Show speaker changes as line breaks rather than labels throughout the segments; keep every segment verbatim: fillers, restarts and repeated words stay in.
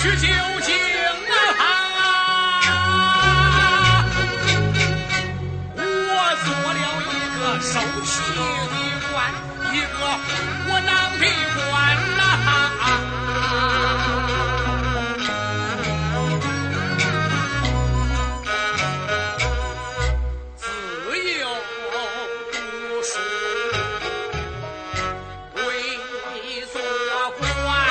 去究竟啊！我做了一个受气的官，一个窝囊的官呐！自幼读书为做官。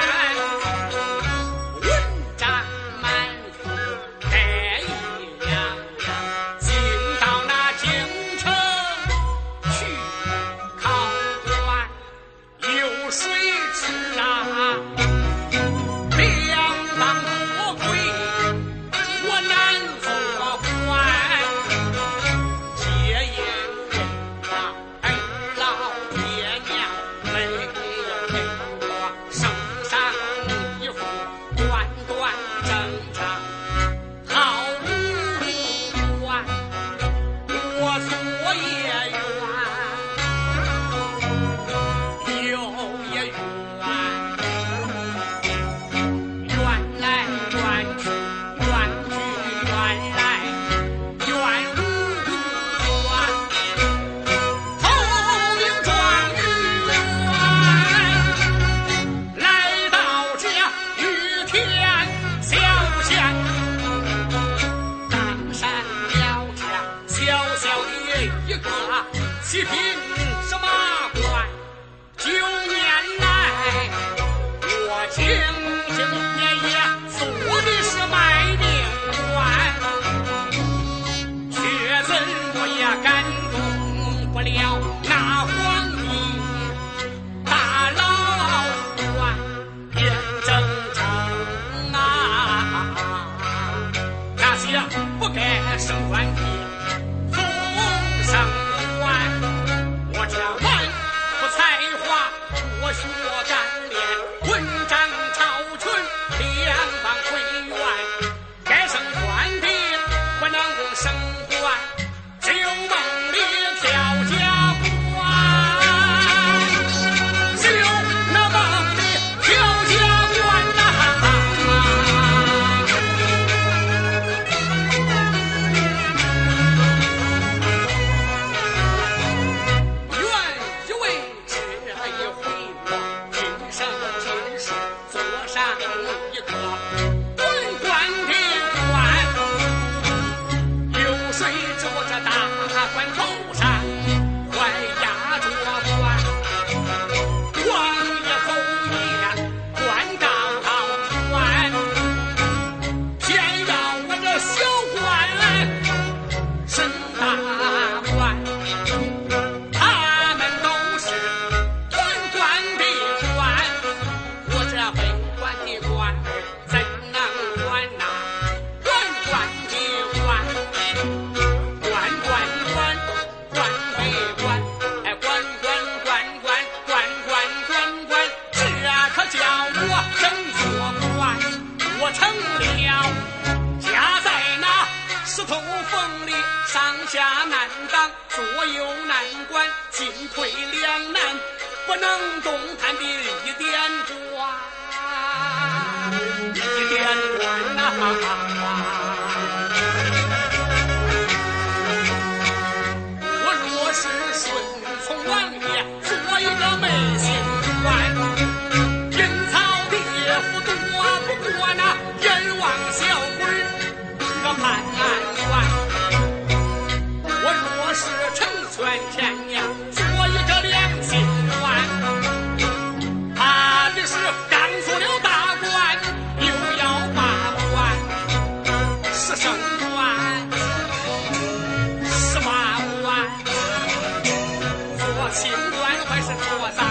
七品什么官？九年来，我兢兢业业做的是卖命官，却怎么也感动不了那皇帝大老官眼睁睁啊！那些不该升官的总升官。我这文不才华，我学干练，文章超群，两方推愿，该升官的不能升官，只有梦里跳家关，只有那梦里跳家关呐、啊！一个文官的官，流水着这大官头上，还压着官，王爷侯爷官高高官，偏要我这小官升大官，他们都是文官的官，我这文官的官怎能管呐？官官的官，官官官，官为官，哎，官官官官，官官官官，这可叫我真做官。我成了家在那石头缝里，上下难当，左右难管，进退两难，不能动弹的一点官。一点官呐、啊！我若是顺从王爷，做一个美心官，阴曹地府躲不过那阎王小鬼个判官。我若是成全天娘，做一个良心官，怕的是刚做了大官，又要罢官，是升官，是罢官，做清官还是做